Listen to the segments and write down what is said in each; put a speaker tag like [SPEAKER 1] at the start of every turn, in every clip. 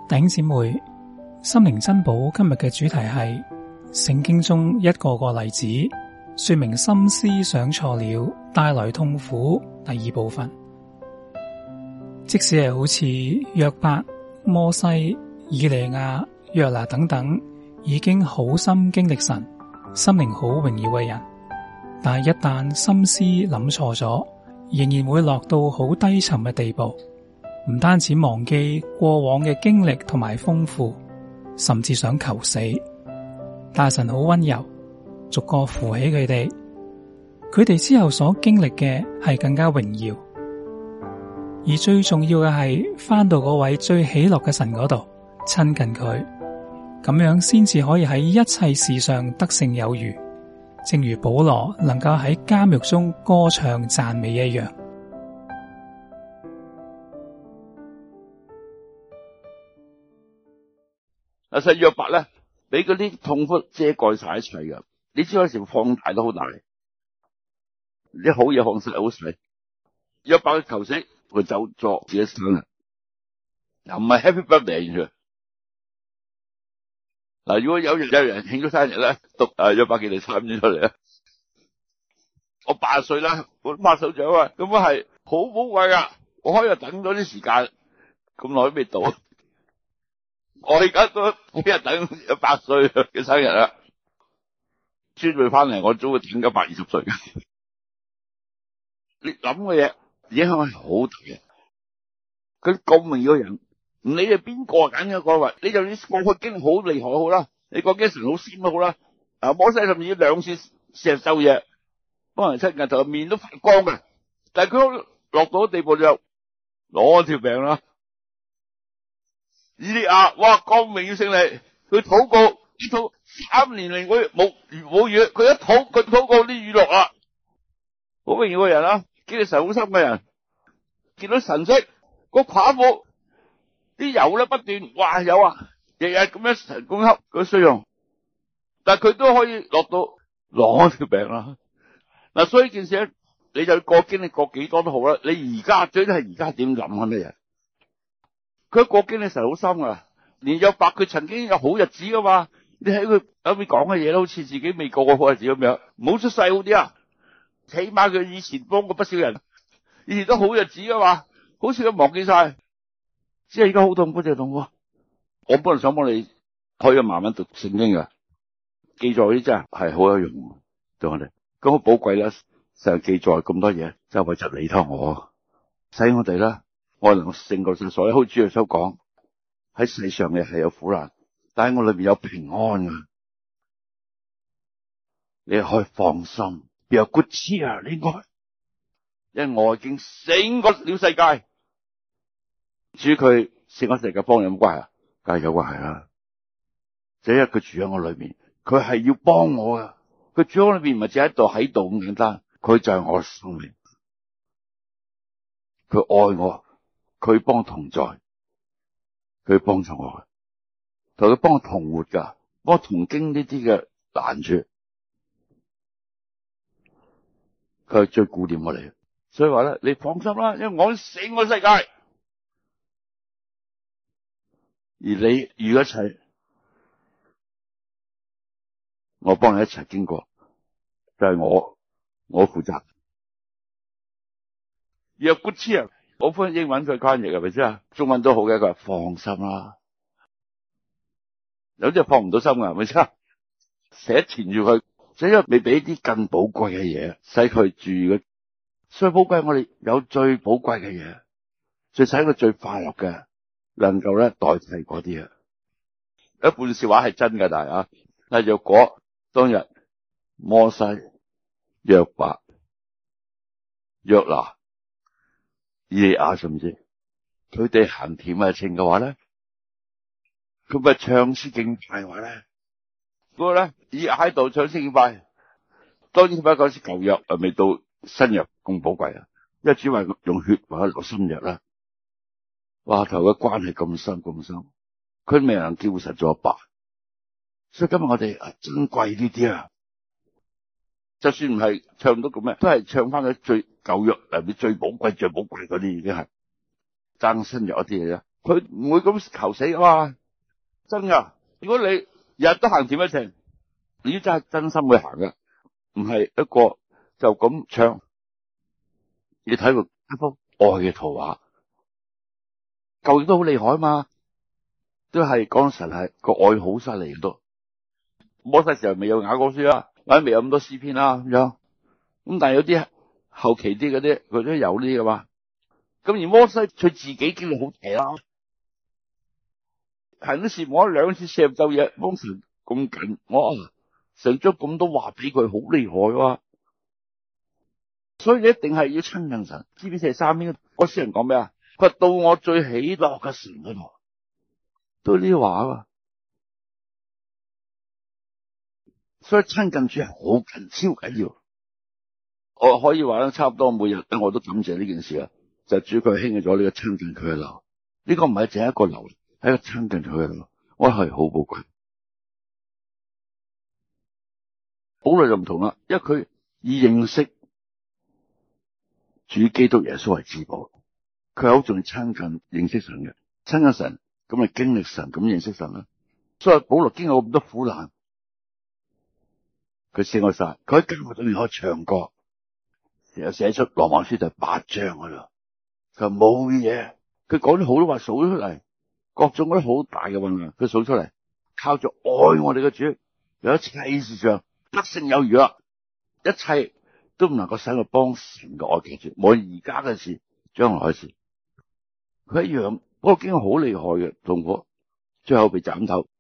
[SPEAKER 1] 弟兄姊妹，心靈珍寶今日嘅主題係聖經中一個個例子，說明心思想錯了帶來痛苦。第二部分，即使係好似約伯、摩西、以利亞、約拿等等，已經好心經歷神、心靈好榮耀嘅人，但係一旦心思諗錯咗，仍然會落到好低沉嘅地步。唔單止忘記過往嘅經歷同埋豐富，甚至想求死。但神好溫柔，逐個扶起佢哋。佢哋之後所經歷嘅係更加榮耀，而最重要嘅係返到嗰位最喜樂嘅神嗰度親近佢，咁樣先至可以喺一切事上得勝有餘，正如保羅能夠喺監獄中歌唱讚美一樣。
[SPEAKER 2] 實約伯咧，俾嗰啲痛苦遮蓋晒一切噶。你知有時放大都好大，啲好嘢放晒好細。約伯求死，佢走作自己生日，又唔係 Happy Birthday 嘅。嗱，如果有人慶祝生日咧，讀約伯記嚟參咗出嚟啊！我80歲啦，我拍手掌啊，咁樣係好寶貴噶。我可以等咗啲時間，咁耐都未到。我而家都每日等100歲嘅生日啦，孫女翻嚟，我早會等120歲嘅。你諗嘅嘢影響係好大嘅。佢咁榮耀嘅人，唔理係邊個揀嘅個位，你就算過去經歷好厲害好啦，你過經神好仙都好啦。摩西甚至2次4日晝夜，幫人親近頭面都發光嘅，但係佢落到地步就攞條命啦。以利亞，哇，光榮要勝利，佢禱告呢禱3年嚟，佢冇雨，佢一禱告啲雨落啦，好榮耀嘅人啦，經歷神好深嘅人，見到神蹟，個寡婦啲油咧不斷，哇有啊，日日咁樣神供給佢需用，但係佢都可以落到攞條命啦。嗱，所以件事咧，你就過經歷過幾多都好啦，你而家最緊係而家點諗咩嘢？佢過經歷神好深噶，連約伯佢曾經有好日子噶嘛？你喺佢後面講嘅嘢都好似自己未過過好日子咁樣，唔好出世好啲啊！起碼佢以前幫過不少人，以前都好日子噶嘛，好似佢忘記晒，只係而家好痛苦就痛苦。我本來想幫你可以慢慢讀聖經噶，記載啲真係好有用對我哋，咁好寶貴啦！成日記載咁多嘢，就為咗你同我，使我哋啦。我能夠勝過所有，好似主耶穌講，喺世上嘅係有苦難，但係我裏面有平安啊！你可以放心，有 good cheer 應該，因為我已經勝過了世界。至於佢勝過世界幫你有冇關係啊？梗係有關係啦。就因為佢住喺我裏面，佢係要幫我噶。佢住喺我裏面唔係只喺度咁簡單，佢就係我嘅生命，佢愛我。佢幫我同在，佢幫助我，同佢幫我同活噶，幫我同經呢啲嘅難處，佢係最顧念我哋。所以話咧，你放心啦，因為我勝過世界，而你遇一切，我幫你一齊經過，就係我負責。若不知啊！我翻英文佢翻譯係咪先啊？中文都好嘅，佢話放心啦。有啲係放唔到心㗎，係咪先？成日纏住佢，就因為未俾啲更寶貴嘅嘢，使佢住嘅。最寶貴，我哋有最寶貴嘅嘢，最使佢最快樂嘅，能夠咧代替嗰啲啊。一半笑話係真嘅，但係啊，但係若果當日摩西、約伯、約拿、以利亞甚至佢哋行甜蜜情嘅話咧，佢咪唱詩敬拜嘅話咧，嗰個咧以喺度唱詩敬拜，當然不講是舊約未到新約咁寶貴啊，因為主話用血或者落新約啦，哇頭嘅關係咁深咁深，佢未能叫實咗阿爸，所以今日我哋珍貴呢啲啊，就算唔係唱到咁咩，都係唱翻佢最舊約入面最寶貴、最寶貴嗰啲，已經係爭新約一啲嘢啫。 佢唔會咁求死噶嘛，真噶。如果你日日都行甜一程，你真係真心去行嘅，唔係一個就咁唱。你睇佢一幅愛嘅圖畫，舊約都好厲害啊嘛，都係講神係個愛好犀利都。摩西時候未有雅歌書啦，或者未有咁多詩篇啦咁樣。咁但係有啲後期啲嗰啲，佢都有呢啲噶嘛。咁而摩西佢自己經歷好大啦，行啲事我2次四十晝夜幫神咁緊，我神將咁多話俾佢，好厲害哇！所以你一定係要親近神。知唔知43篇嗰詩人講咩啊？佢話到我最喜樂嘅神嗰度，都呢啲話啊嘛。所以親近主係好緊，超緊要。我可以話咧，差唔多每日我都感謝呢件事啊，就係主佢興起咗呢個親近佢嘅流。呢個唔係淨係一個流，係一個親近佢嘅流，我係好寶貴。保羅就唔同啦，因為佢以認識主基督耶穌為至寶，佢係好重要親近認識神嘅，親近神咁咪經歷神，咁認識神啦。所以保羅經過咁多苦難，佢勝過晒，佢喺監獄裏面可以唱歌，又寫出羅馬書第8章嗰度，佢話冇嘢，佢講咗好多話數出嚟，各種嗰啲好大嘅運量，佢數出嚟，靠住愛我哋嘅主，有一切事上得勝有餘啦，一切都唔能夠使我幫神嘅愛記住，無論而家嘅事，將來嘅事，佢一樣，不過經過好厲害嘅痛苦，最後被斬頭，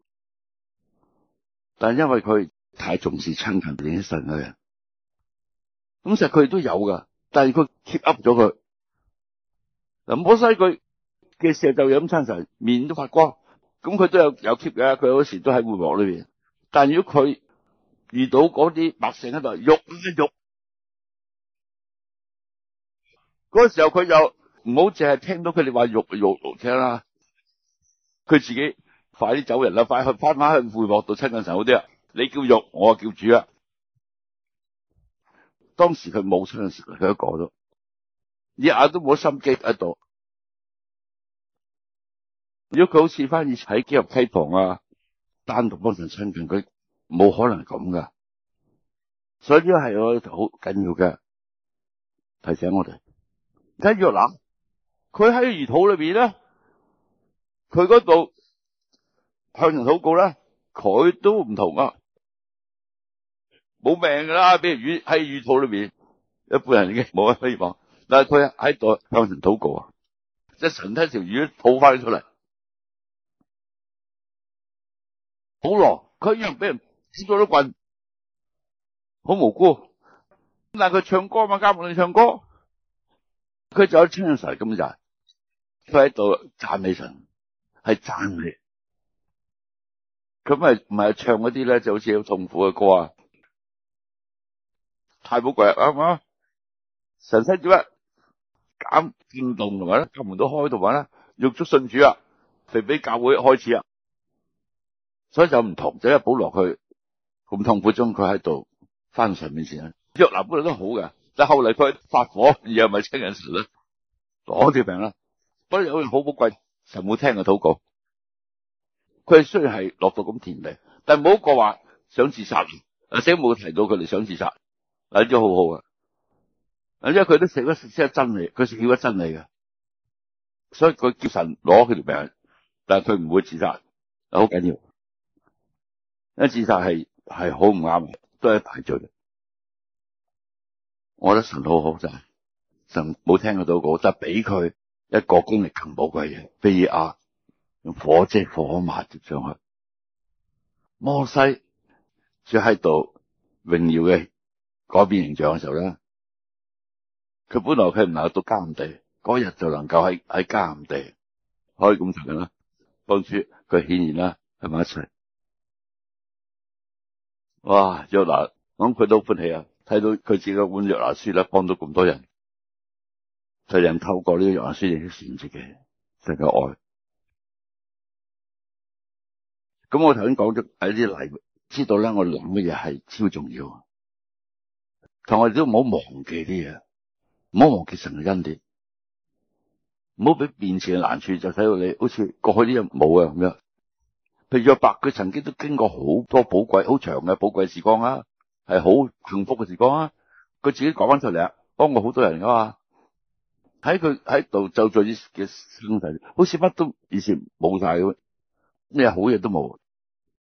[SPEAKER 2] 但係因為佢太重視親近認識神嘅人，咁實佢哋都有噶，但係佢 keep up 咗佢。嗱，摩西佢嘅時候就飲親神，面都發光，咁佢都有 keep 嘅，佢有時都喺會幕裏邊。但係如果佢遇到嗰啲百姓喺度喐一喐，嗰個時候佢就唔好淨係聽到佢哋話喐聽啦，佢自己快啲走人啦，快去翻返去會幕度親近神好啲啊！你叫喐，我叫主啊！當時佢冇親近神，佢一個都日日都冇心機喺度。如果佢好似翻以前喺基立溪旁啊，單獨幫神親近佢，冇可能咁噶。所以呢個係我好緊要嘅提醒我哋。睇約拿，佢喺魚肚裏邊咧，佢嗰度向神禱告咧，佢都唔同啊，冇命噶啦，俾魚喺魚肚裏邊，一般人已經冇乜希望。但係佢喺度向神禱告啊，即係神睇條魚吐翻出嚟。保羅佢一樣俾人接咗啲棍，好無辜。但係佢唱歌嘛，監獄裏唱歌，佢就有親近神，咁就係佢喺度讚美神，係讚美。佢咪唔係唱嗰啲咧，就好似好痛苦嘅歌啊，太寶貴啦，啱唔啱？神使點啊？減震動同埋咧，教門都開同埋咧，獄卒信主啊，腓比教會開始啊，所以就唔同。就因為保羅佢咁痛苦中，佢喺度翻神面前啊。約拿本來都好嘅，但係後嚟佢發火，而又咪親近神咧，攞條命啦。不過有樣好寶貴，神冇聽佢禱告。佢雖然係落到咁田地，但係冇一個話想自殺。聖經冇提到佢哋想自殺，嗱，都好好啊。因為佢都食咗真理，佢食咗真理嘅，所以佢叫神攞佢條命，但係佢唔會自殺，好緊要。因為自殺係好唔啱，都係大罪。我覺得神好好就係神冇聽佢禱告，但係俾佢一個功力更寶貴嘅，非以亞用火即火抹上去。摩西就喺度榮耀嘅改變形象嘅時候咧，佢本來佢唔能夠到迦南地，嗰日就能夠喺迦南地可以咁長啦，幫主佢顯現啦，喺埋一齊。哇！約拿，我諗佢都歡喜啊！睇到佢自己嘅本約拿書咧，幫到咁多人，就人透過呢個約拿書認識神自己，神嘅愛。咁我頭先講咗喺啲例，知道咧我諗嘅嘢係超重要，但我哋都唔好忘記啲嘢，唔好忘記神嘅恩典。 唔好俾面前嘅難處就使到你好似過去啲嘢冇啊咁樣。譬如約伯，佢曾經都經過好多寶貴、好長嘅寶貴時光啊，係好幸福嘅時光啊。佢自己講翻出嚟啊，幫過好多人噶嘛。喺佢喺度就在嘅生世，好似乜都以前冇晒咁，咩好嘢都冇。